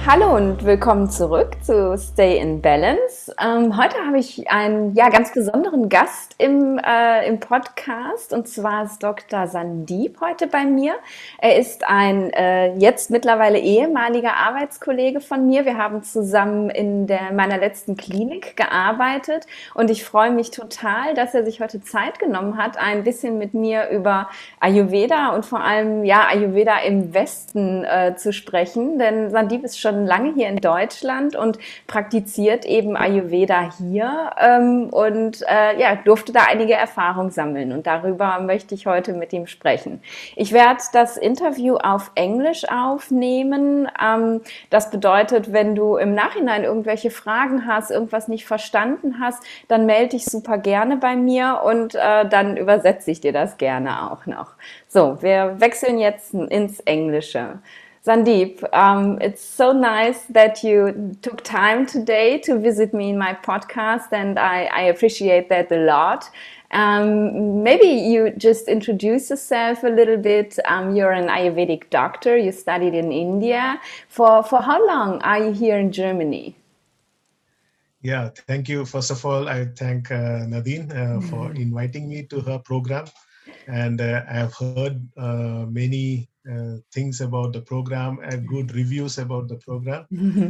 Hallo und willkommen zurück zu Stay in Balance. Heute habe ich einen ganz besonderen Gast im Podcast, und zwar ist Dr. Sandeep heute bei mir. Er ist ein jetzt mittlerweile ehemaliger Arbeitskollege von mir. Wir haben zusammen in meiner letzten Klinik gearbeitet, und ich freue mich total, dass er sich heute Zeit genommen hat, ein bisschen mit mir über Ayurveda und vor allem Ayurveda im Westen zu sprechen, denn Sandeep ist schon lange hier in Deutschland und praktiziert eben Ayurveda hier durfte da einige Erfahrungen sammeln, und darüber möchte ich heute mit ihm sprechen. Ich werde das Interview auf Englisch aufnehmen. Das bedeutet, wenn du im Nachhinein irgendwelche Fragen hast, irgendwas nicht verstanden hast, dann melde dich super gerne bei mir, und dann übersetze ich dir das gerne auch noch. So, wir wechseln jetzt ins Englische. Sandeep, it's so nice that you took time today to visit me in my podcast, and I appreciate that a lot. Maybe you just introduce yourself a little bit. You're an Ayurvedic doctor. You studied in India. For how long are you here in Germany? Yeah, thank you. First of all, I thank Nadine for inviting me to her program. And I've heard many things about the program and good reviews about the program.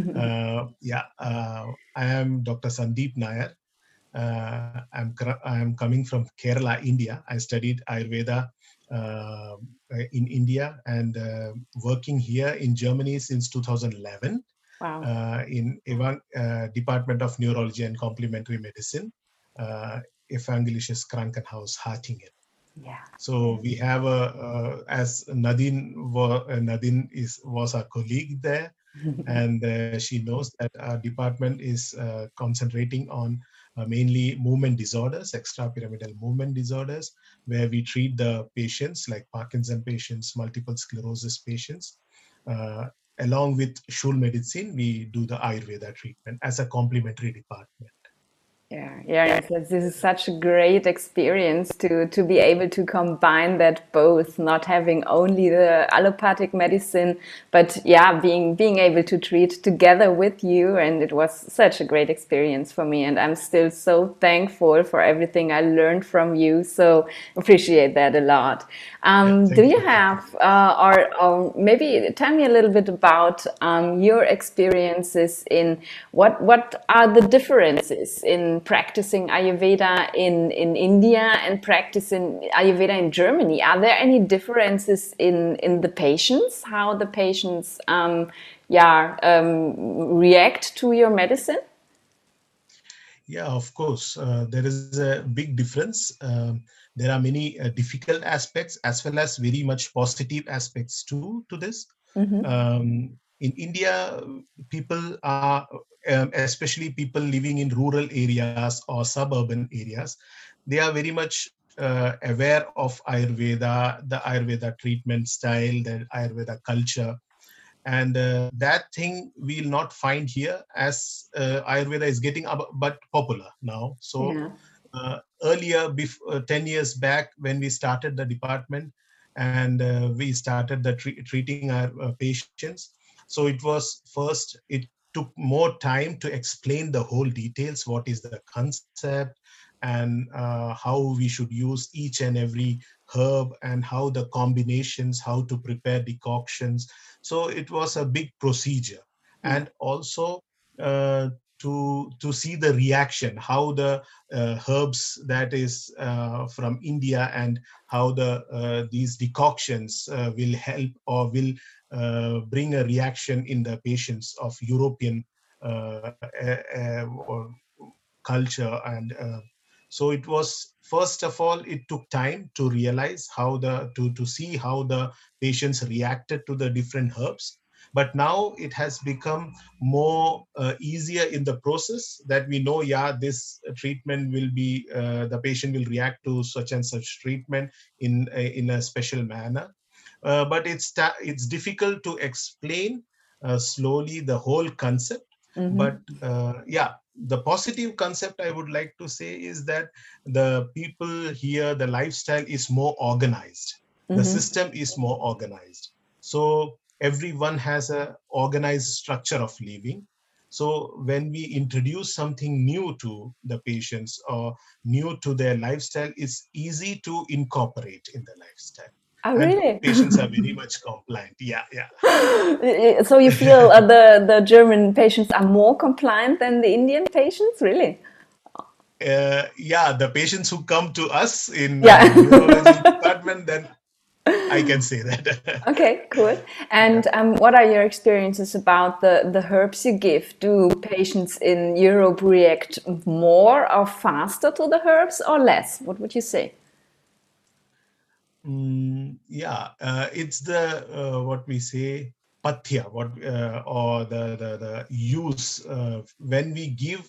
I am Dr. Sandeep Nair. I'm coming from Kerala, India. I studied Ayurveda uh, in India and working here in Germany since 2011. Wow. In Department of Neurology and Complementary Medicine, Evangelisches Krankenhaus Hattingen. Yeah. So we have as Nadine was our colleague there, and she knows that our department is concentrating on mainly movement disorders, extrapyramidal movement disorders, where we treat the patients like Parkinson patients, multiple sclerosis patients. Along with Schul Medicine, we do the Ayurveda treatment as a complementary department. This is such a great experience to be able to combine that both, not having only the allopathic medicine, but being able to treat together with you. And it was such a great experience for me, and I'm still so thankful for everything I learned from you. So appreciate that a lot. Do you have, or maybe tell me a little bit about your experiences in what are the differences in practicing Ayurveda in India and practicing Ayurveda in Germany? Are there any differences in the patients, how the patients react to your medicine? Yeah, of course. There is a big difference. There are many difficult aspects as well as very much positive aspects too to this. In India, people are, especially people living in rural areas or suburban areas, they are very much aware of Ayurveda, the Ayurveda treatment style, the Ayurveda culture. And that thing we'll not find here, as Ayurveda is getting but popular now. So earlier, 10 years back, when we started the department and we started the treating our patients, so it was first, it took more time to explain the whole details, what is the concept, and how we should use each and every herb, and how the combinations, how to prepare decoctions. So it was a big procedure. And also to see the reaction, how the herbs that is from India, and how these decoctions will help or will bring a reaction in the patients of European culture. And so it was, first of all, it took time to realize how to see how the patients reacted to the different herbs. But now it has become more easier in the process, that we know, this treatment will be, the patient will react to such and such treatment in a special manner. But it's difficult to explain slowly the whole concept. But the positive concept I would like to say is that the people here, the lifestyle is more organized. The system is more organized. So everyone has a organized structure of living. So when we introduce something new to the patients or new to their lifestyle, it's easy to incorporate in the lifestyle. Oh, And really? patients are very much compliant. Yeah, yeah. So you feel the German patients are more compliant than the Indian patients, really? Yeah, the patients who come to us in Yeah. neurology department, then I can say that. Okay, cool. Yeah. And what are your experiences about the herbs you give? Do patients in Europe react more or faster to the herbs or less? What would you say? Yeah, it's the what we say pathya, what or the use when we give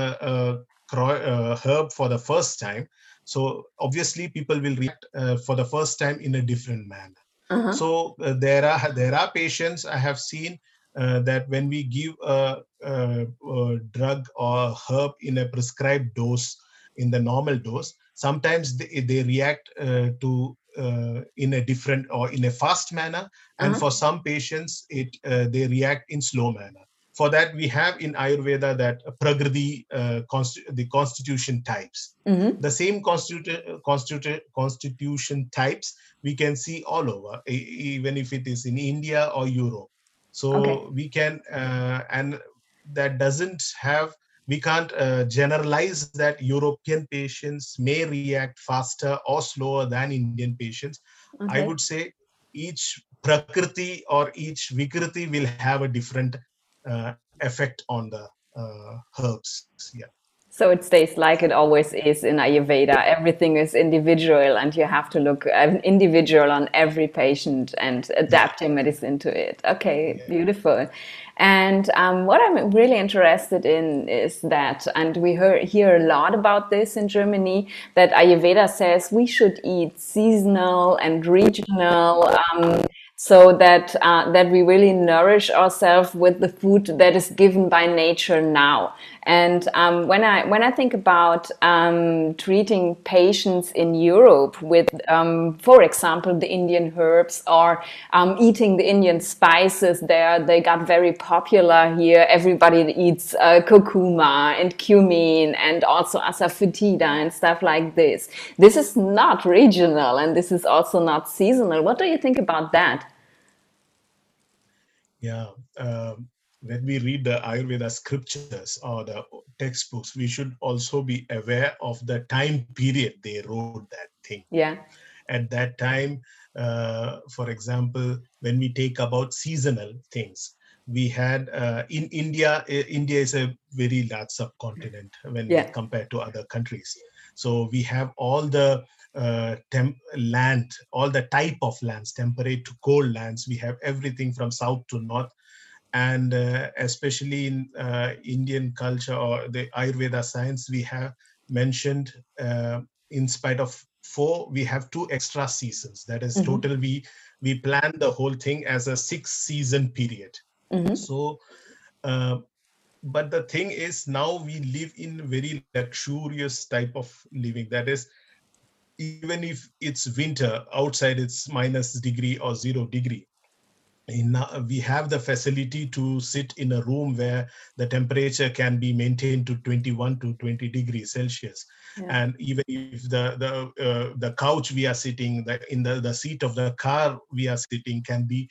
herb for the first time. So obviously people will react for the first time in a different manner. Uh-huh. So there are patients I have seen that when we give a drug or herb in a prescribed dose, in the normal dose, sometimes they react to in a different or in a fast manner, and Uh-huh. for some patients they react in slow manner. For that we have in Ayurveda that prakriti, the constitution types. Mm-hmm. The same constitution types we can see all over, even if it is in India or Europe. Okay. So we can and that doesn't have, we can't generalize that European patients may react faster or slower than Indian patients. I Okay. would say each prakriti or each vikriti will have a different effect on the herbs. Yeah. So it stays like it always is in Ayurveda. Everything is individual, and you have to look individual on every patient and Yeah. adapt your medicine to it. Okay, Yeah. beautiful. And what I'm really interested in is that, and we hear a lot about this in Germany, that Ayurveda says we should eat seasonal and regional. So that we really nourish ourselves with the food that is given by nature now. And when I think about treating patients in Europe with, for example, the Indian herbs or eating the Indian spices, they got very popular here. Everybody eats curcuma and cumin and also asafoetida and stuff like this. This is not regional and this is also not seasonal. What do you think about that? Yeah. When we read the Ayurveda scriptures or the textbooks, we should also be aware of the time period they wrote that thing. Yeah. At that time, for example, when we take about seasonal things, we had in India. India is a very large subcontinent when we Yeah. compare to other countries. So we have all the land, all the type of lands, temperate to cold lands. We have everything from south to north, and especially in Indian culture or the Ayurveda science, we have mentioned in spite of four, we have two extra seasons. That is Hmm. total. We plan the whole thing as a 6 season period. Hmm. So, uh, but the thing is, now we live in very luxurious type of living. That is, even if it's winter outside, it's -degree or 0 degree, we have the facility to sit in a room where the temperature can be maintained to 21 to 20 degrees Celsius. Yeah. And even if the couch we are sitting, the seat of the car we are sitting can be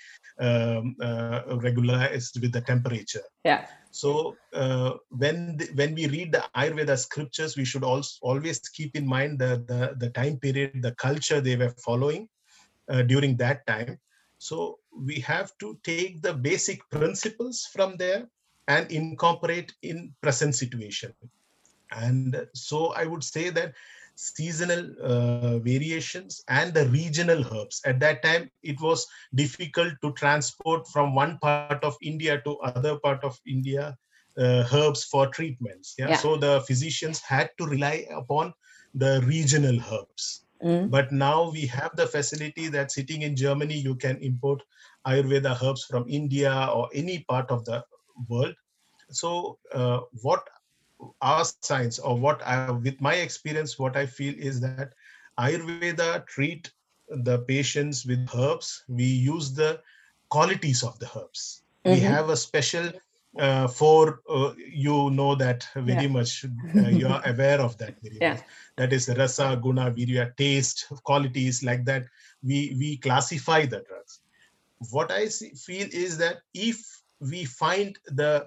regularized with the temperature. Yeah. So when we read the Ayurveda scriptures, we should also always keep in mind the time period, the culture they were following during that time. So we have to take the basic principles from there and incorporate in present situation. And so I would say that seasonal variations and the regional herbs, at that time it was difficult to transport from one part of India to other part of India herbs for treatments. Yeah, Yeah. so the physicians had to rely upon the regional herbs. Mm. But now we have the facility that sitting in Germany, you can import Ayurveda herbs from India or any part of the world. So what our science, or with my experience, what I feel is that Ayurveda treat the patients with herbs. We use the qualities of the herbs. We have a special you know that very much. You are aware of that very much. That is rasa, guna, virya, taste, qualities like that. We classify the drugs. What I feel is that if we find the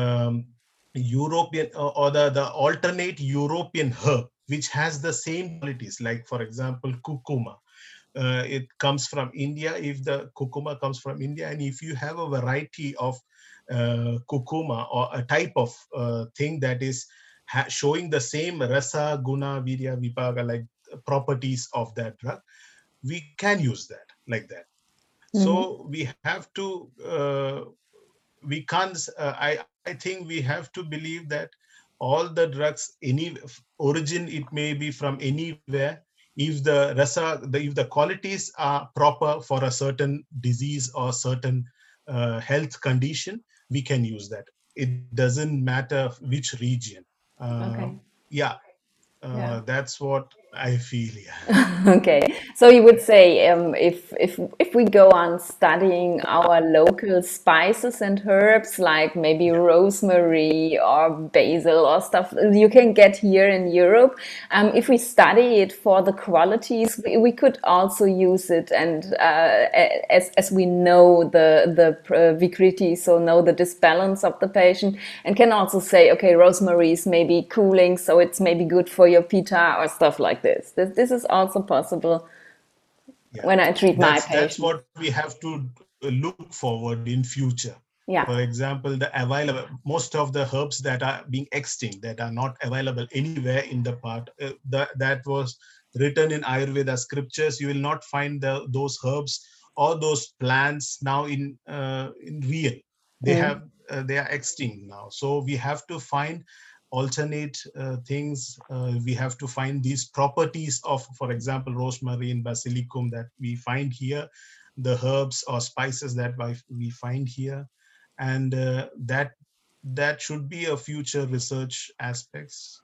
European or the alternate European herb which has the same qualities, like for example curcuma, it comes from India. If the curcuma comes from India, and if you have a variety of curcuma or a type of thing that is showing the same rasa, guna, virya, vipaga, like properties of that drug, we can use that like that. So we have to, we can't, I think we have to believe that all the drugs, any origin, it may be from anywhere. If the if the qualities are proper for a certain disease or certain health condition, we can use that. It doesn't matter which region. Yeah, that's what I feel. Yeah. Okay, so you would say if we go on studying our local spices and herbs, like maybe rosemary or basil or stuff you can get here in Europe, if we study it for the qualities, we could also use it, and as we know the vikriti, so know the disbalance of the patient, and can also say, okay, rosemary is maybe cooling, so it's maybe good for your pitta or stuff like this. This is also possible when I treat my patients. That's what we have to look forward in future. For example, the available, most of the herbs that are being extinct, that are not available anywhere in the part, that was written in Ayurveda scriptures, you will not find those herbs or those plants now in real. They are extinct now. So we have to find alternate things. We have to find these properties of, for example, rosemary and basilicum that we find here, the herbs or spices that we find here, and that should be a future research aspects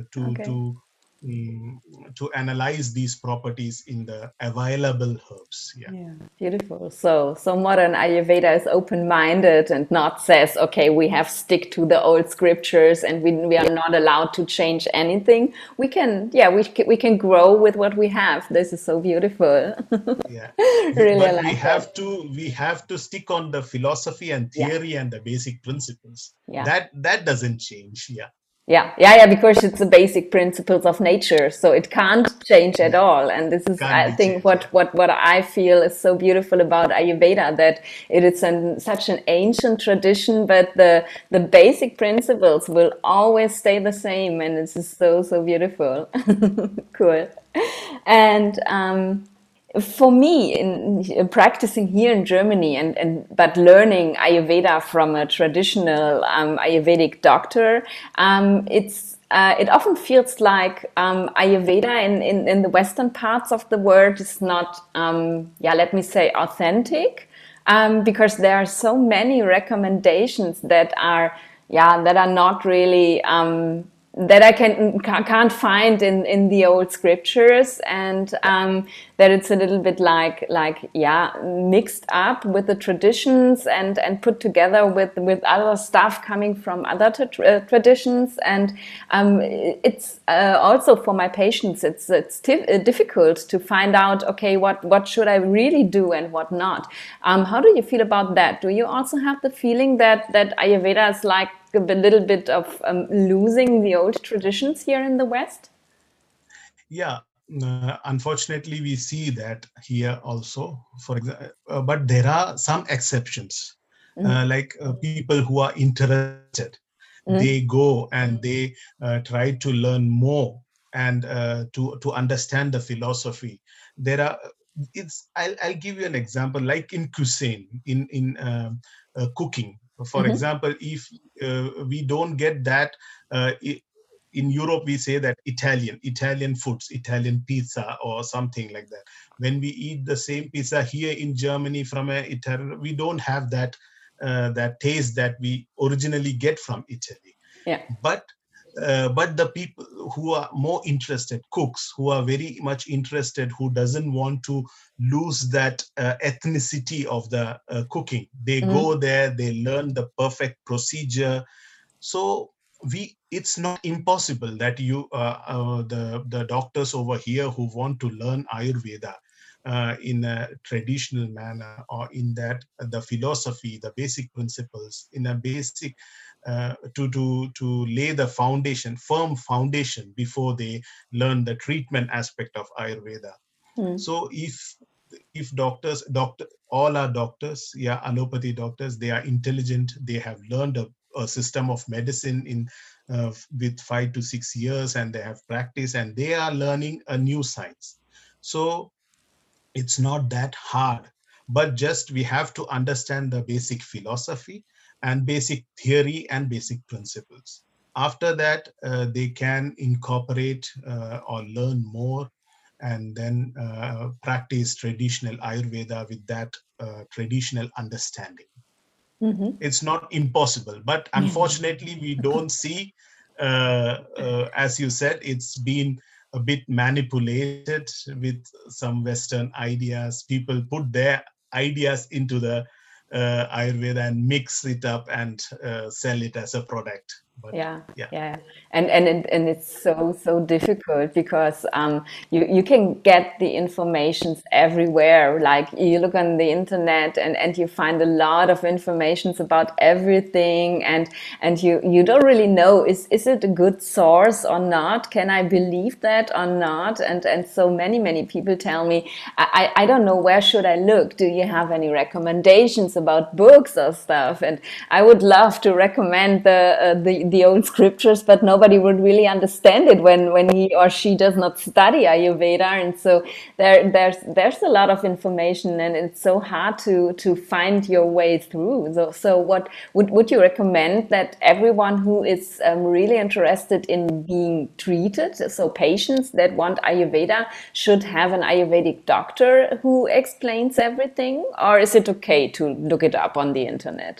to analyze these properties in the available herbs. Beautiful. So modern Ayurveda is open-minded and not says, okay, we have stick to the old scriptures and we are not allowed to change anything. We can we can grow with what we have. This is so beautiful. Really, but we have to stick on the philosophy and theory and the basic principles. That doesn't change. Because it's the basic principles of nature, so it can't change at all. And this is, I think, what I feel is so beautiful about Ayurveda, that it is such an ancient tradition, but the basic principles will always stay the same, and this is so beautiful. Cool. And for me, in practicing here in Germany, but learning Ayurveda from a traditional Ayurvedic doctor, it often feels like Ayurveda in the Western parts of the world is not, let me say, authentic, because there are so many recommendations that are not really that I can't find in the old scriptures, and that it's a little bit like mixed up with the traditions and put together with other stuff coming from other traditions, and it's also for my patients it's difficult to find out, okay, what should I really do and what not. How do you feel about that? Do you also have the feeling that Ayurveda is like a little bit of losing the old traditions here in the West? Unfortunately, we see that here also. For example, but there are some exceptions, like people who are interested. They go and they try to learn more and to understand the philosophy. There are. I'll give you an example, like in cuisine, in cooking. For example, if we don't get that, in Europe, we say that Italian foods, Italian pizza or something like that. When we eat the same pizza here in Germany from Italian, we don't have that that taste that we originally get from Italy. But but the people who are more interested, cooks who are very much interested, who doesn't want to lose that ethnicity of the cooking, they go there, they learn the perfect procedure. So it's not impossible that the doctors over here who want to learn Ayurveda in a traditional manner, or in that the philosophy, the basic principles, in a basic to lay the foundation, firm foundation, before they learn the treatment aspect of Ayurveda. So if doctor all are doctors, yeah, allopathy doctors, they are intelligent, they have learned a system of medicine in with 5 to 6 years, and they have practice, and they are learning a new science. So it's not that hard, but just we have to understand the basic philosophy and basic theory and basic principles. After that, they can incorporate or learn more, and then practice traditional Ayurveda with that traditional understanding. It's not impossible, but unfortunately we don't see, as you said, it's been a bit manipulated with some Western ideas. People put their ideas into the Ayurveda and mix it up and sell it as a product. But Yeah, yeah. yeah, and it's so difficult because you can get the informations everywhere. Like you look on the internet and you find a lot of informations about everything, and you don't really know, is it a good source or not? Can I believe that or not? And so many people tell me, I don't know, where should I look? Do you have any recommendations about books or stuff? And I would love to recommend the old scriptures, but nobody would really understand it when he or she does not study Ayurveda. And so there's a lot of information, and it's so hard to find your way through. So what would you recommend that everyone who is really interested in being treated, so patients that want Ayurveda, should have an Ayurvedic doctor who explains everything, or is it okay to look it up on the internet?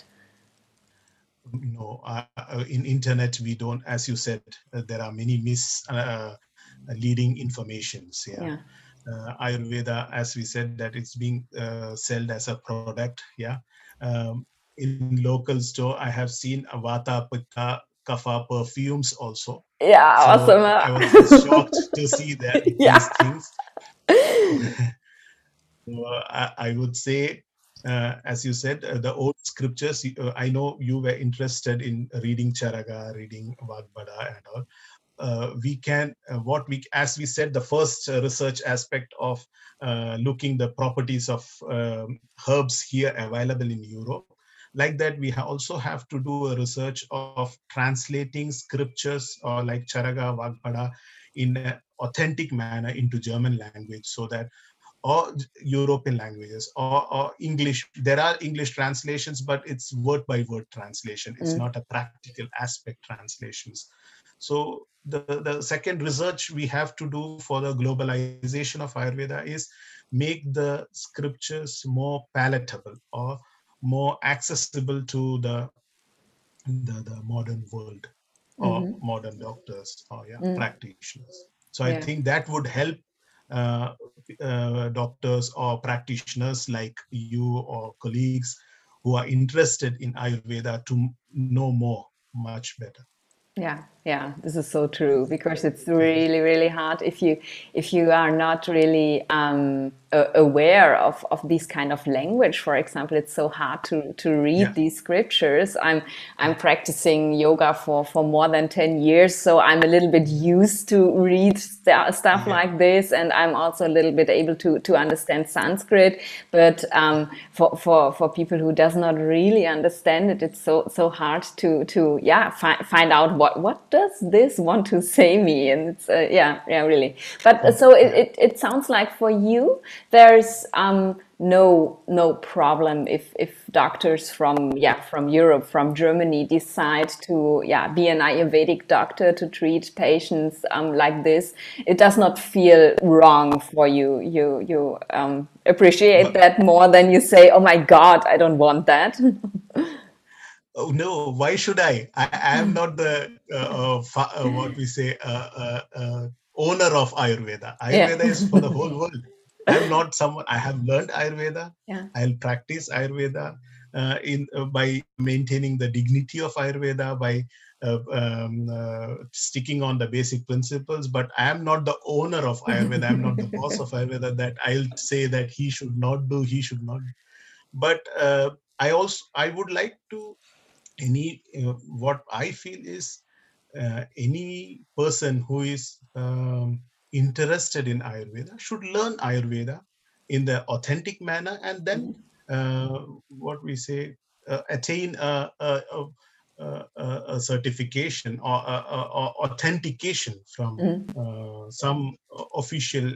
No, in internet we don't, as you said, there are many misleading informations. Yeah. Yeah. Ayurveda, as we said, that it's being sold as a product. Yeah. In local store, I have seen Vata, Pitta, Kapha perfumes also. Yeah, So I was just awesome. shocked to see that these Yeah. things. So, I would say, as you said, the old scriptures. I know you were interested in reading Charaga, reading Vagbada, and all. We can, as we said, the first research aspect of looking the properties of herbs here available in Europe. Like that, we also have to do a research of translating scriptures, or like Charaga, Vagbada, in an authentic manner into German language, so that, or European languages, or English. There are English translations, but it's word by word translation. It's not a practical aspect translations. So the second research we have to do for the globalization of Ayurveda is make the scriptures more palatable or more accessible to the modern world, or modern doctors, or yeah, practitioners. So I Yeah. think that would help uh, doctors or practitioners like you or colleagues who are interested in Ayurveda to know more, much better. Yeah, yeah, this is so true because it's really hard if you are not really aware of this kind of language. For example, it's so hard to read Yeah, these scriptures. I'm practicing yoga for more than 10 years, so I'm a little bit used to read stuff yeah. like this, and I'm also a little bit able to understand Sanskrit. But for people who does not really understand it, it's so hard to yeah, find out what does this want to say me. And it's yeah, really. But so Yeah. it sounds like for you there's no problem if doctors from Europe, from Germany, decide to be an Ayurvedic doctor to treat patients like this. It does not feel wrong for you. You appreciate But that more than you say, oh my God, I don't want that. Oh no, why should I am not the what we say owner of Ayurveda. Yeah. Ayurveda is for the whole world. I'm not someone. I have learned Ayurveda. Yeah. I'll practice Ayurveda in by maintaining the dignity of Ayurveda, by sticking on the basic principles. But I am not the owner of Ayurveda. I'm not the boss of Ayurveda. That I'll say that he should not do. He should not. But I would like to any what I feel is any person who is interested in Ayurveda should learn Ayurveda in the authentic manner, and then what we say attain a certification or authentication from Mm, some official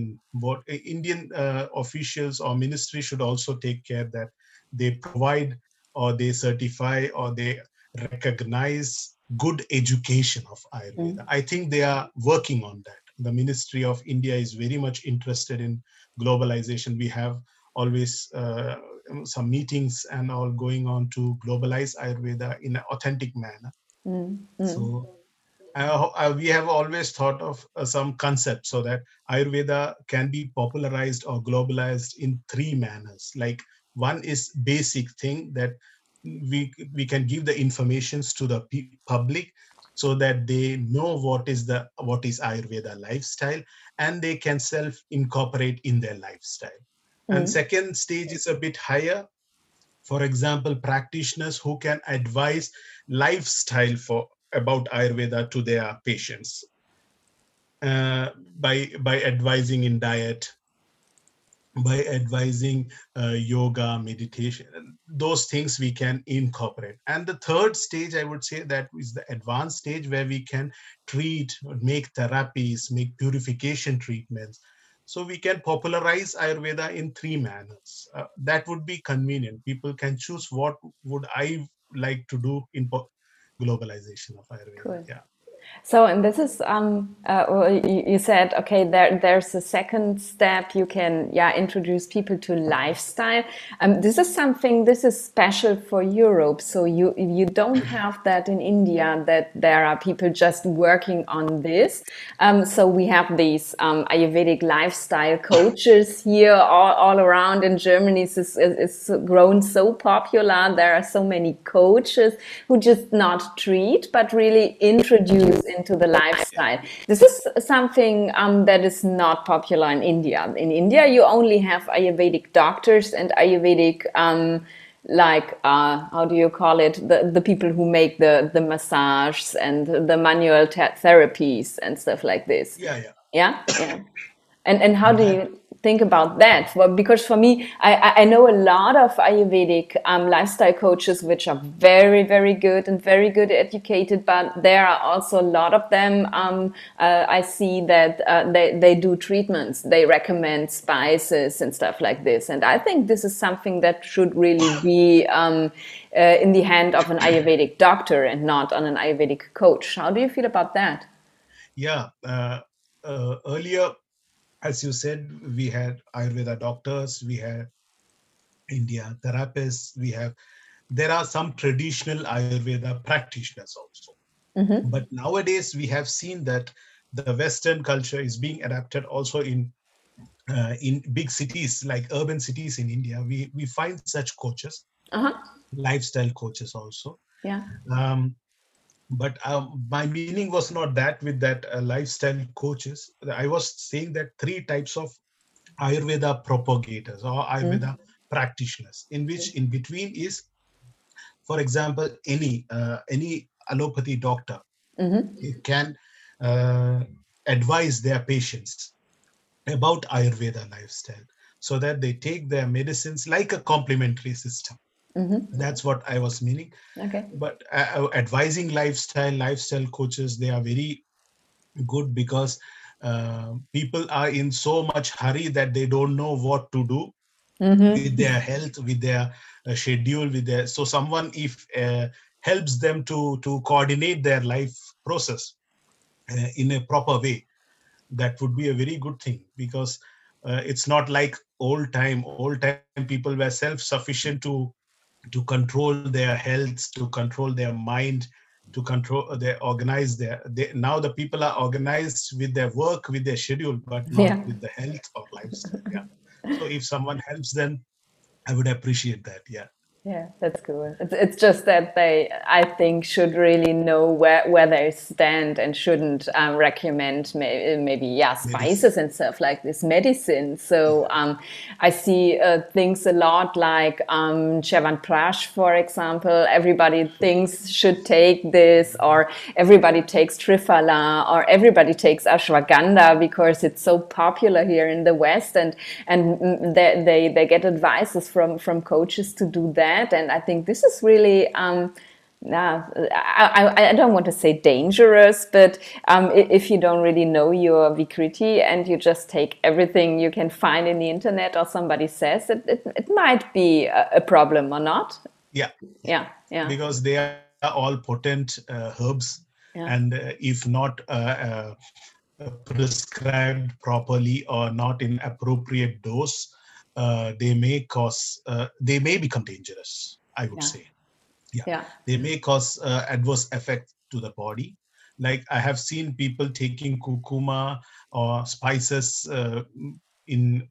Indian officials or ministry should also take care that they provide or they certify or they recognize good education of Ayurveda. mm, I think they are working on that. The Ministry of India is very much interested in globalization. We have always some meetings and all going on to globalize Ayurveda in an authentic manner. mm, mm, So we have always thought of some concepts so that Ayurveda can be popularized or globalized in three manners. Like one is basic thing that we can give the informations to the public so that they know what is Ayurveda lifestyle and they can self incorporate in their lifestyle. And mm. second stage is a bit higher, for example, practitioners who can advise lifestyle for about Ayurveda to their patients uh, by advising in diet, by advising yoga, meditation, those things we can incorporate. And the third stage, I would say, that is the advanced stage where we can treat, make therapies, make purification treatments. So we can popularize Ayurveda in three manners. That would be convenient. People can choose what would I like to do in globalization of Ayurveda. Cool. Yeah. So, and this is, well, you said, okay, there's a second step. You can, yeah, introduce people to lifestyle. This is something, this is special for Europe. So you don't have that in India, that there are people just working on this. So we have these Ayurvedic lifestyle coaches here all around in Germany. It's grown so popular. There are so many coaches who just not treat, but really introduce into the lifestyle. This is something that is not popular in India. In India, you only have Ayurvedic doctors and Ayurvedic like how do you call it, the people who make the massages and the manual therapies and stuff like this. Yeah, yeah. Yeah, yeah. And how do That you think about that? Well, because for me, I know a lot of Ayurvedic lifestyle coaches, which are very, very good and very good educated, but there are also a lot of them. I see that they do treatments, they recommend spices and stuff like this. And I think this is something that should really be in the hand of an Ayurvedic doctor and not on an Ayurvedic coach. How do you feel about that? yeah. Earlier, as you said, we had Ayurveda doctors, we had India therapists, there are some traditional Ayurveda practitioners also. Mm-hmm. But nowadays, we have seen that the Western culture is being adapted also in big cities like urban cities in India. We find such coaches, Uh-huh. lifestyle coaches also. Yeah. Um, but my meaning was not that with that lifestyle coaches. I was saying that three types of Ayurveda propagators or Ayurveda Mm-hmm. practitioners, in which in between is, for example, any allopathy doctor Mm-hmm. can uh, advise their patients about Ayurveda lifestyle so that they take their medicines like a complementary system. Mm-hmm. That's what I was meaning. Okay. But advising lifestyle coaches, they are very good because people are in so much hurry that they don't know what to do with Mm-hmm. their health, with their schedule, with their, so someone if helps them to coordinate their life process in a proper way, that would be a very good thing, because it's not like old time people were self sufficient to to control their health, to control their mind, to control now the people are organized with their work, with their schedule, but not Yeah. with the health or lifestyle. Yeah. So if someone helps them, I would appreciate that. Yeah. Yeah, that's cool. It's just that they, I think, should really know where they stand and shouldn't recommend maybe yeah, Medicine. spices and stuff like this, medicine. So Yeah. I see things a lot like Chyawanprash, for example. Everybody thinks should take this, or everybody takes Triphala, or everybody takes ashwagandha because it's so popular here in the West, and they get advices from coaches to do that. And I think this is really I don't want to say dangerous, but if you don't really know your Vikriti and you just take everything you can find in the internet or somebody says, it might be a problem or not. Yeah. Yeah, yeah, Because they are all potent herbs, yeah, and if not prescribed properly or not in appropriate dose, they may become dangerous, I would yeah, say. Yeah, yeah. they may cause adverse effect to the body. Like I have seen people taking kurkuma or spices in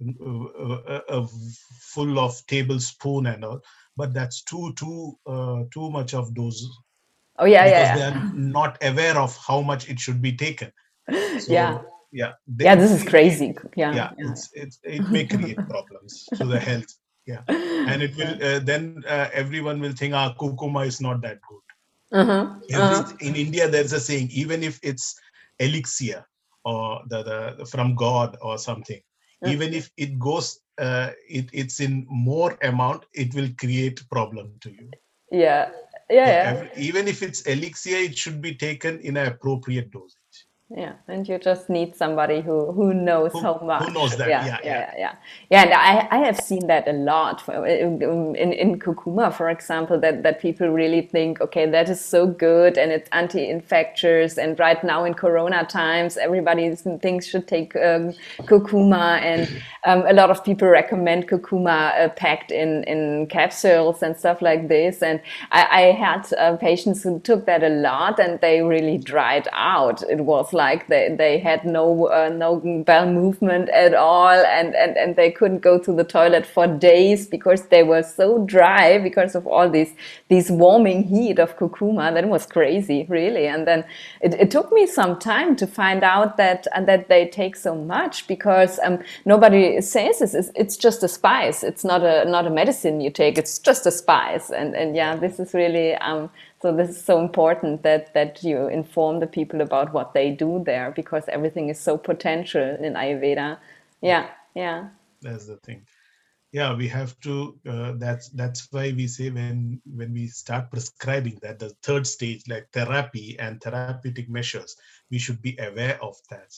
full of tablespoon and all, but that's too much of dose, Oh yeah, because they yeah, are not aware of how much it should be taken. yeah, yeah. So yeah, Yeah, this is crazy. Yeah, yeah, yeah, it may create problems to the health. Yeah, and it will yeah. then everyone will think, kurkuma is not that good. Uh-huh, Every uh-huh. In India, there's a saying, even if it's elixir or the from God or something, even if it goes, it's in more amount, it will create problem to you. Yeah, yeah, So yeah. even if it's elixir, it should be taken in an appropriate dosage. Yeah, and you just need somebody who knows Who how who much. knows that? Yeah, Yeah, yeah, yeah. yeah, yeah. Yeah, and I have seen that a lot in kurkuma, for example, that people really think, okay, that is so good and it's anti-infectious. And right now in Corona times, everybody thinks should take kurkuma, and a lot of people recommend kurkuma packed in capsules and stuff like this. And I had patients who took that a lot, and they really dried out. It was like they had no bowel movement at all, and they couldn't go to the toilet for days because they were so dry because of all these warming heat of kurkuma. That was crazy, really. And then it took me some time to find out that they take so much, because nobody says this. It's just a spice. It's not a medicine you take. It's just a spice. And yeah, this is really so this is so important that you inform the people about what they do there, because everything is so potential in Ayurveda. Yeah, Yeah, yeah. that's the thing. Yeah, we have to. That's why we say, when we start prescribing that, the third stage, like therapy and therapeutic measures, we should be aware of that.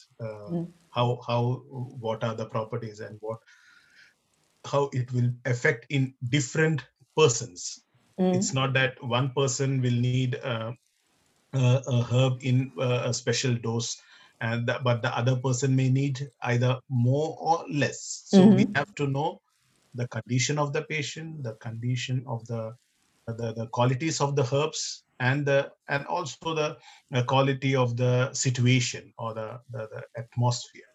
How what are the properties, and how it will affect in different persons. It's not that one person will need a herb in a special dose, but the other person may need either more or less. So we have to know the condition of the patient, the condition of the qualities of the herbs, and also the quality of the situation or the atmosphere.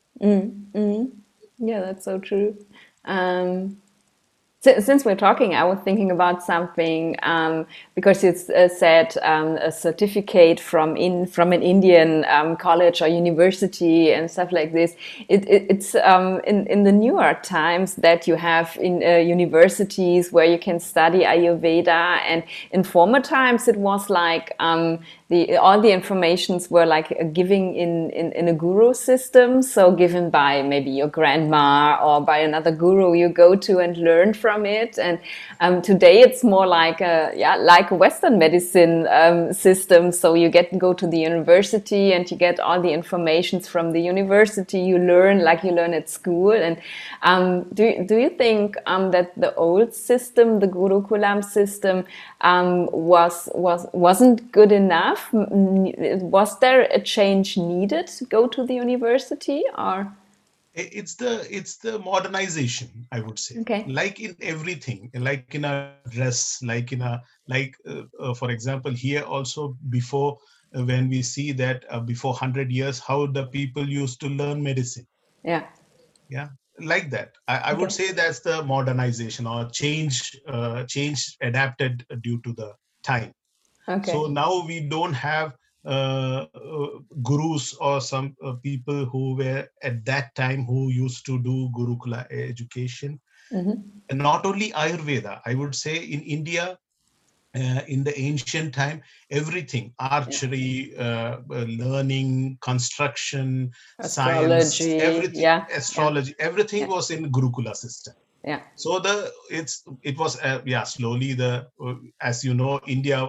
Yeah, that's so true. Um, Since we're talking, I was thinking about something, because it's said a certificate from an Indian college or university and stuff like this. It's in the newer times that you have in universities where you can study Ayurveda, and in former times it was like all the informations were like giving in a guru system, so given by maybe your grandma or by another guru you go to and learn from it. And today it's more like a Western medicine system. So you go to the university and you get all the informations from the university. You learn like you learn at school. And do you think that the old system, the Gurukulam system, wasn't good enough? Was there a change needed to go to the university, or? It's the modernization, I would say. Okay. Like in everything, like in a dress, like in a like for example, here also before, when we see that before 100 years, how the people used to learn medicine. Yeah. Yeah, like that. I would Okay. say that's the modernization or change adapted due to the time. So Okay. now we don't have gurus or some people who were at that time who used to do Gurukula education. Mm-hmm. And not only Ayurveda, I would say in India, in the ancient time, everything, Yeah. archery, learning, construction, science, Astrology. everything, Yeah. Yeah. astrology, everything Yeah. was in Gurukula system. Yeah. So it was yeah, slowly the as you know,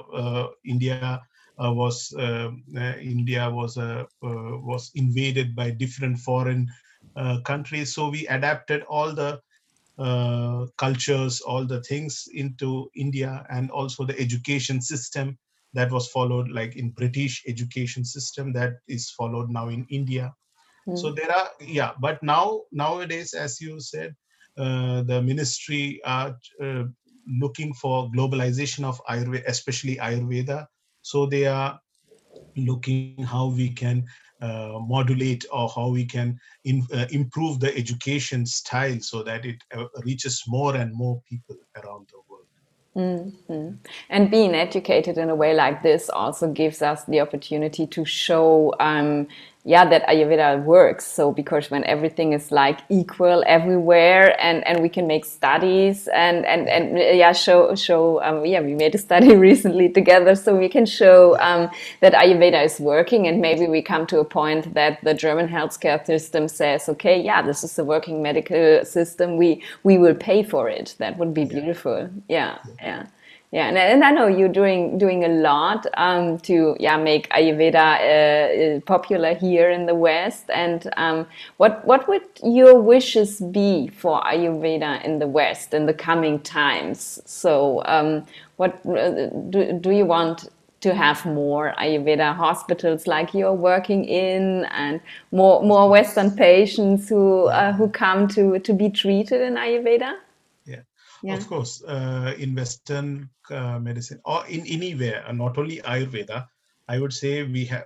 India was invaded by different foreign countries, so we adapted all the cultures, all the things into India, and also the education system that was followed, like in British education system, that is followed now in India. So Mm. there are, yeah, but nowadays, as you said, the ministry are looking for globalization of Ayurveda, especially Ayurveda. So they are looking how we can modulate, or how we can improve the education style so that it reaches more and more people around the world. Mm-hmm. And being educated in a way like this also gives us the opportunity to show, yeah, that Ayurveda works. So because when everything is like equal everywhere, and we can make studies and yeah, show yeah, we made a study recently together, so we can show Yeah, that Ayurveda is working, and maybe we come to a point that the German healthcare system says, okay, yeah, this is a working medical system. We will pay for it. That would be yeah, beautiful. Yeah. yeah. Yeah. Yeah, and I know you're doing a lot to, yeah, make Ayurveda popular here in the West. And what would your wishes be for Ayurveda in the West in the coming times? So what do you want to have more Ayurveda hospitals like you're working in, and Of more Western course. patients Yeah, who come to be treated in Ayurveda? yeah. Yeah. Of course, in Western medicine or in anywhere, not only Ayurveda, I would say we have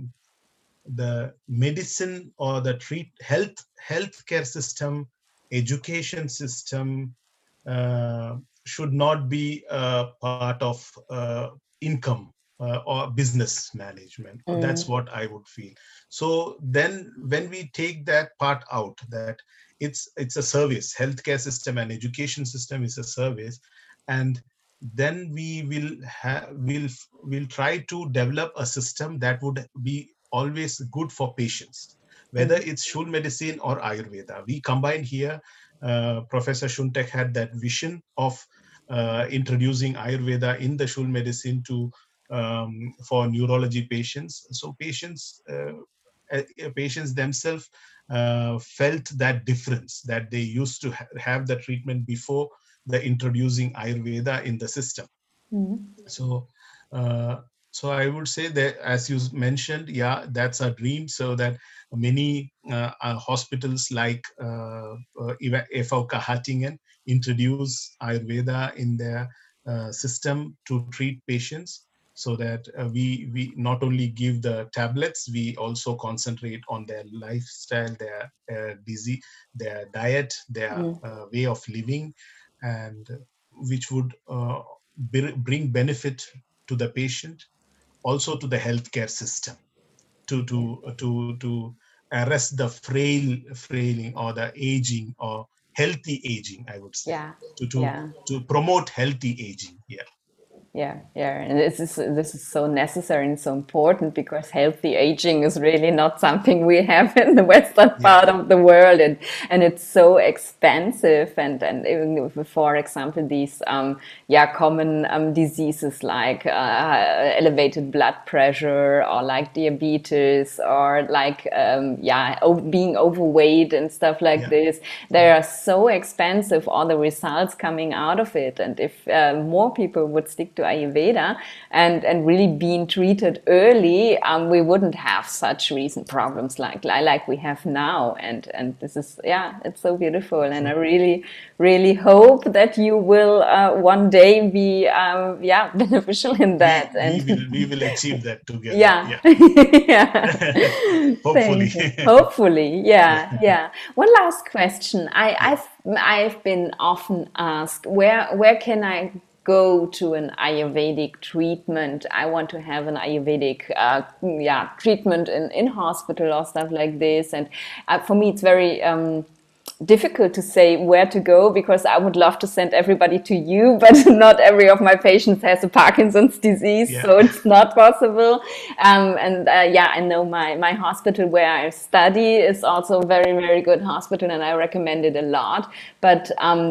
the medicine or the healthcare system, education system should not be a part of income or business management. That's Mm. what I would feel. So then when we take that part out, that it's a service, healthcare system and education system is a service, and then we will try to develop a system that would be always good for patients, whether Mm. it's Shul medicine or Ayurveda. We combined here. Professor Shuntek had that vision of introducing Ayurveda in the Shul medicine to for neurology patients. So patients themselves felt that difference, that they used to have the treatment before the introducing Ayurveda in the system. Mm. So uh, so I would say that, as you mentioned, yeah, that's a dream, so that many hospitals like FOK Hattingen introduce Ayurveda in their system to treat patients, so that we not only give the tablets, we also concentrate on their lifestyle, their disease, their diet, their Mm. way of living, and which would bring benefit to the patient, also to the healthcare system, Yeah. to arrest the frailing or the aging or healthy aging, I would say, Yeah. to to Yeah. to promote healthy aging. Yeah, Yeah, yeah, and this is so necessary and so important, because healthy aging is really not something we have in the Western yeah, part of the world, and it's so expensive, and even for example these yeah, common diseases like elevated blood pressure, or like diabetes, or like yeah, being overweight and stuff like yeah, this, they yeah, are so expensive, all the results coming out of it. And if more people would stick to Ayurveda and really being treated early, we wouldn't have such recent problems like we have now. And this is, yeah, it's so beautiful. And I really hope that you will one day be, beneficial in that. We will achieve that together. Yeah, Yeah. yeah. Hopefully. Thank you. Hopefully, yeah, Yeah. yeah. One last question. Yeah. I've been often asked, where can I go to an Ayurvedic treatment? I want to have an Ayurvedic treatment in hospital or stuff like this. And for me, it's very difficult to say where to go, because I would love to send everybody to you, but not every of my patients has a Parkinson's disease, Yeah. so it's not possible. I know my hospital where I study is also a very good hospital, and I recommend it a lot. But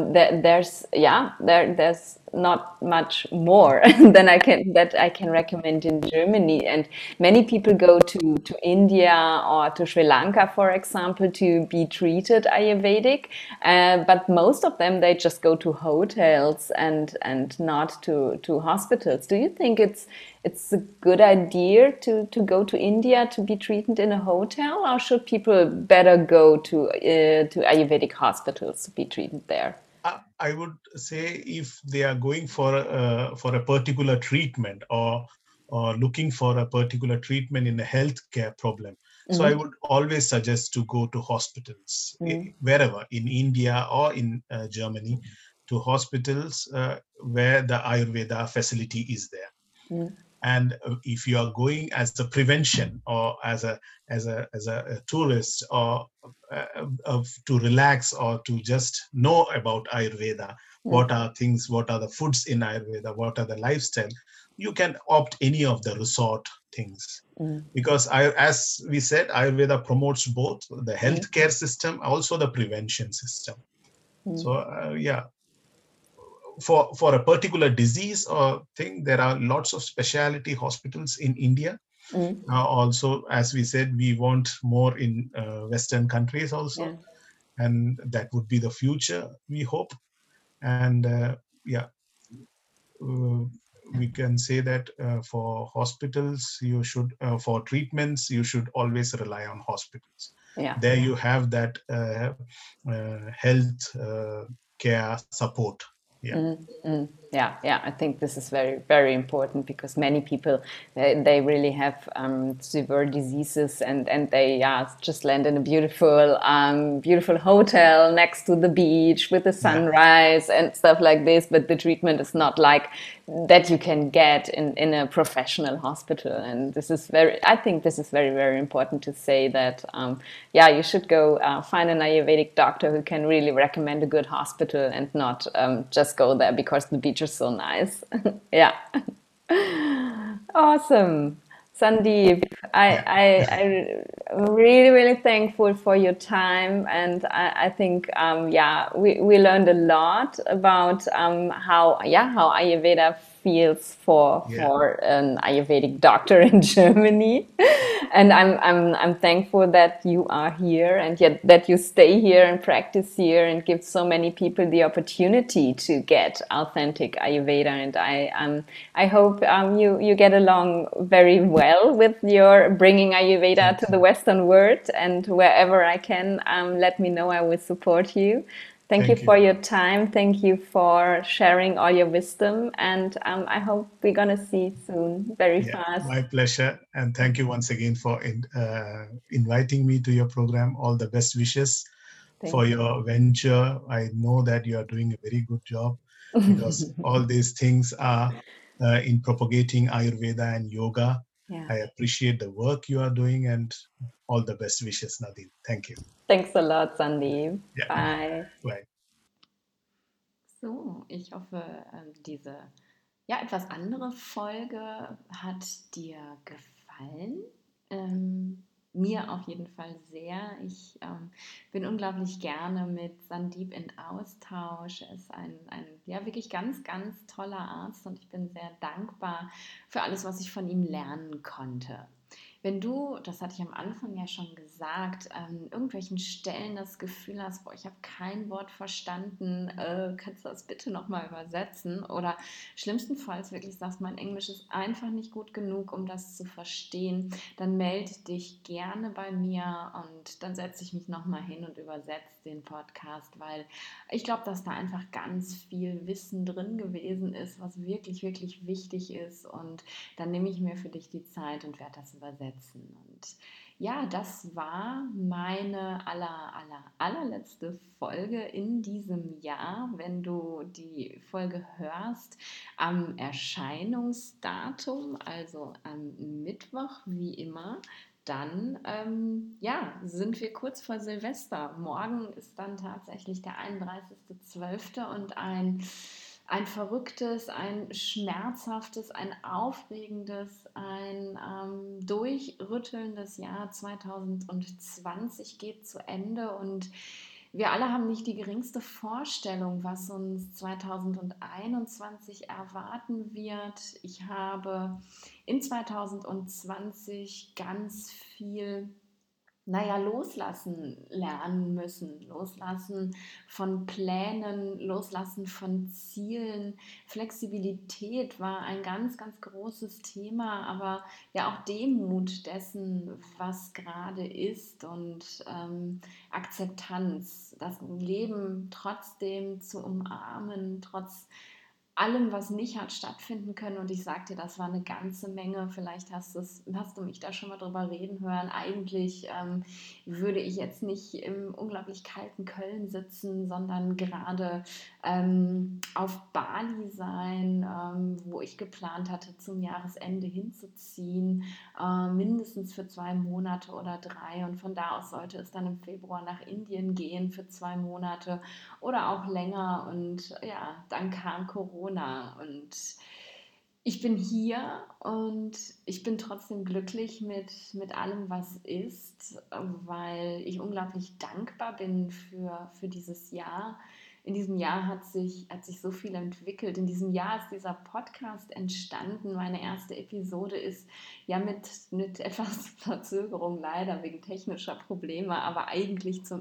there's not much more than I can recommend in Germany. And many people go to India or to Sri Lanka, for example, to be treated Ayurvedic. But most of them, they just go to hotels and not to hospitals. Do you think it's a good idea to go to India to be treated in a hotel, or should people better go to Ayurvedic hospitals to be treated there? I would say if they are going for a particular treatment, or looking for a particular treatment in a healthcare problem, so I would always suggest to go to hospitals, wherever in India or in Germany, to hospitals where the Ayurveda facility is there. And if you are going as a prevention, or as a tourist, or to relax, or to just know about Ayurveda, what are the foods in Ayurveda, what are the lifestyle, you can opt any of the resort things. Because as we said, Ayurveda promotes both the healthcare system, also the prevention system. So for a particular disease or thing, there are lots of specialty hospitals in India. Also, as we said, we want more in Western countries also, Yeah. and that would be the future, we hope. And uh, we can say that for hospitals, for treatments, you should always rely on hospitals. Yeah. There you have that health care support. Yeah. Yeah. I think this is very important, because many people, they really have severe diseases, and they just land in a beautiful hotel next to the beach with the sunrise and stuff like this. But the treatment is not like that you can get in a professional hospital. And I think this is very important to say that you should go find an Ayurvedic doctor who can really recommend a good hospital, and not just go there because the beach is so nice. Yeah. Awesome. Sandeep, I'm really thankful for your time, and I think we learned a lot about how Ayurveda feels for an Ayurvedic doctor in Germany. And I'm thankful that you are here, and yet that you stay here and practice here and give so many people the opportunity to get authentic Ayurveda. And I hope you get along very well with your bringing Ayurveda to the Western world. And wherever I can, let me know. I will support you. Thank you for your time. Thank you for sharing all your wisdom. And I hope we're going to see soon, very fast. My pleasure. And thank you once again for inviting me to your program. All the best wishes for your venture. I know that you are doing a very good job, because all these things are in propagating Ayurveda and yoga. Yeah. I appreciate the work you are doing, and all the best wishes, Nadine. Thank you. Thanks a lot, Sandeep. Yeah. Bye. Bye. So, ich hoffe, diese etwas andere Folge hat dir gefallen. Mir auf jeden Fall sehr. Ich bin unglaublich gerne mit Sandeep in Austausch. Er ist ein wirklich ganz toller Arzt, und ich bin sehr dankbar für alles, was ich von ihm lernen konnte. Wenn du, das hatte ich am Anfang ja schon gesagt, an irgendwelchen Stellen das Gefühl hast, boah, ich habe kein Wort verstanden, kannst du das bitte nochmal übersetzen? Oder schlimmstenfalls wirklich sagst, mein Englisch ist einfach nicht gut genug, um das zu verstehen, dann melde dich gerne bei mir und dann setze ich mich nochmal hin und übersetze den Podcast, weil ich glaube, dass da einfach ganz viel Wissen drin gewesen ist, was wirklich, wirklich wichtig ist, und dann nehme ich mir für dich die Zeit und werde das übersetzen. Und ja, das war meine allerletzte Folge in diesem Jahr. Wenn du die Folge hörst, am Erscheinungsdatum, also am Mittwoch wie immer, dann ja, sind wir kurz vor Silvester. Morgen ist dann tatsächlich der 31.12. und ein verrücktes, ein schmerzhaftes, ein aufregendes, ein durchrüttelndes Jahr 2020 geht zu Ende, und wir alle haben nicht die geringste Vorstellung, was uns 2021 erwarten wird. Ich habe in 2020 ganz viel loslassen lernen müssen. Loslassen von Plänen, loslassen von Zielen. Flexibilität war ein ganz, ganz großes Thema, aber ja auch Demut dessen, was gerade ist, und Akzeptanz, das Leben trotzdem zu umarmen, trotz allem, was nicht hat stattfinden können. Und ich sag dir, das war eine ganze Menge. Vielleicht hast du mich da schon mal drüber reden hören. Eigentlich würde ich jetzt nicht im unglaublich kalten Köln sitzen, sondern gerade auf Bali sein, wo ich geplant hatte, zum Jahresende hinzuziehen, mindestens für 2 Monate oder 3. Und von da aus sollte es dann im Februar nach Indien gehen für 2 Monate oder auch länger. Und ja, dann kam Corona und ich bin hier, und ich bin trotzdem glücklich mit allem, was ist, weil ich unglaublich dankbar bin für dieses Jahr. In diesem Jahr hat sich so viel entwickelt. In diesem Jahr ist dieser Podcast entstanden. Meine erste Episode ist ja mit etwas Verzögerung leider wegen technischer Probleme, aber eigentlich zum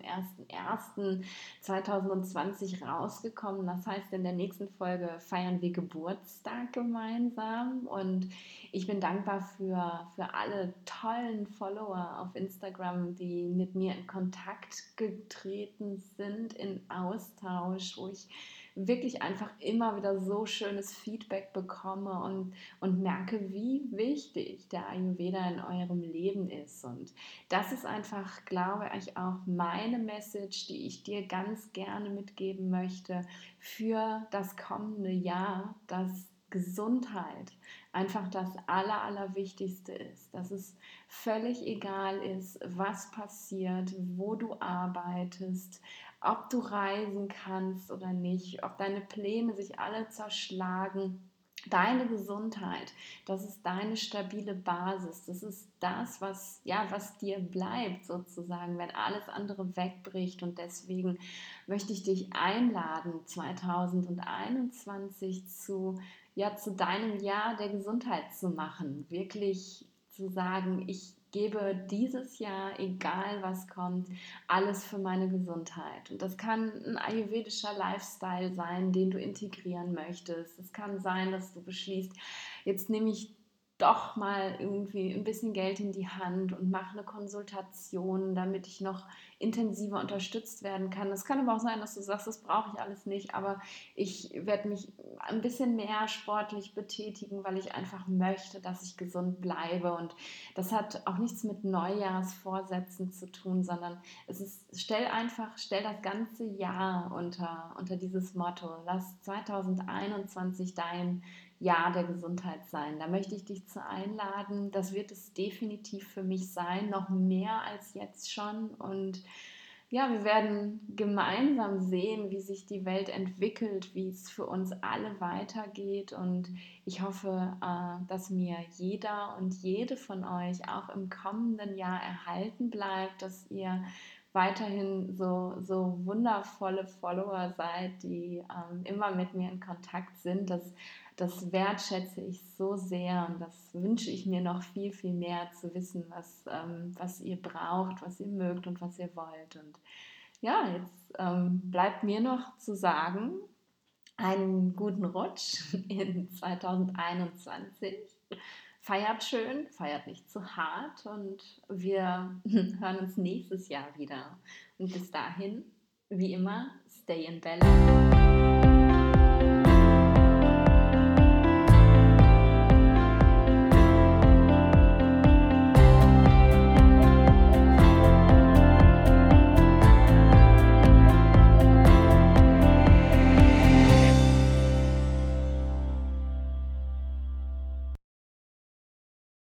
1.1.2020 rausgekommen. Das heißt, in der nächsten Folge feiern wir Geburtstag gemeinsam, und ich bin dankbar für alle tollen Follower auf Instagram, die mit mir in Kontakt getreten sind, in Austausch, wo ich wirklich einfach immer wieder so schönes Feedback bekomme und merke, wie wichtig der Ayurveda in eurem Leben ist. Und das ist einfach, glaube ich, auch meine Message, die ich dir ganz gerne mitgeben möchte für das kommende Jahr, dass Gesundheit einfach das Allerwichtigste ist, dass es völlig egal ist, was passiert, wo du arbeitest, ob du reisen kannst oder nicht, ob deine Pläne sich alle zerschlagen. Deine Gesundheit, das ist deine stabile Basis. Das ist das, was dir bleibt sozusagen, wenn alles andere wegbricht. Und deswegen möchte ich dich einladen, 2021 zu deinem Jahr der Gesundheit zu machen. Wirklich zu sagen, ich gebe dieses Jahr, egal was kommt, alles für meine Gesundheit. Und das kann ein ayurvedischer Lifestyle sein, den du integrieren möchtest. Es kann sein, dass du beschließt, jetzt nehme ich doch mal irgendwie ein bisschen Geld in die Hand und mache eine Konsultation, damit ich noch intensiver unterstützt werden kann. Es kann aber auch sein, dass du sagst, das brauche ich alles nicht, aber ich werde mich ein bisschen mehr sportlich betätigen, weil ich einfach möchte, dass ich gesund bleibe. Und das hat auch nichts mit Neujahrsvorsätzen zu tun, sondern stell das ganze Jahr unter dieses Motto. Lass 2021 dein Jahr der Gesundheit sein. Da möchte ich dich zu einladen. Das wird es definitiv für mich sein, noch mehr als jetzt schon. Und ja, wir werden gemeinsam sehen, wie sich die Welt entwickelt, wie es für uns alle weitergeht. Und ich hoffe, dass mir jeder und jede von euch auch im kommenden Jahr erhalten bleibt, dass ihr weiterhin so wundervolle Follower seid, die immer mit mir in Kontakt sind. das wertschätze ich so sehr und das wünsche ich mir noch viel, viel mehr zu wissen, was ihr braucht, was ihr mögt und was ihr wollt. Und ja, jetzt bleibt mir noch zu sagen, einen guten Rutsch in 2021. Feiert schön, feiert nicht zu hart und wir hören uns nächstes Jahr wieder. Und bis dahin, wie immer, stay in balance.